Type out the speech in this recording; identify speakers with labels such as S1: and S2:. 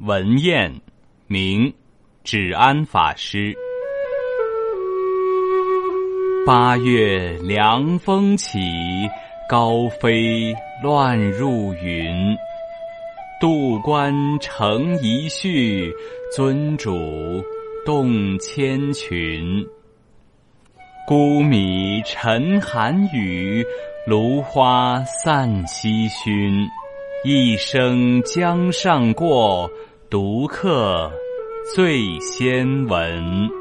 S1: 文彦，名止安法师。8月凉风起，高飞乱入云。度观成一绪，尊主动千群。孤米沉寒雨，芦花散西熏。一生江上过，独客最先闻。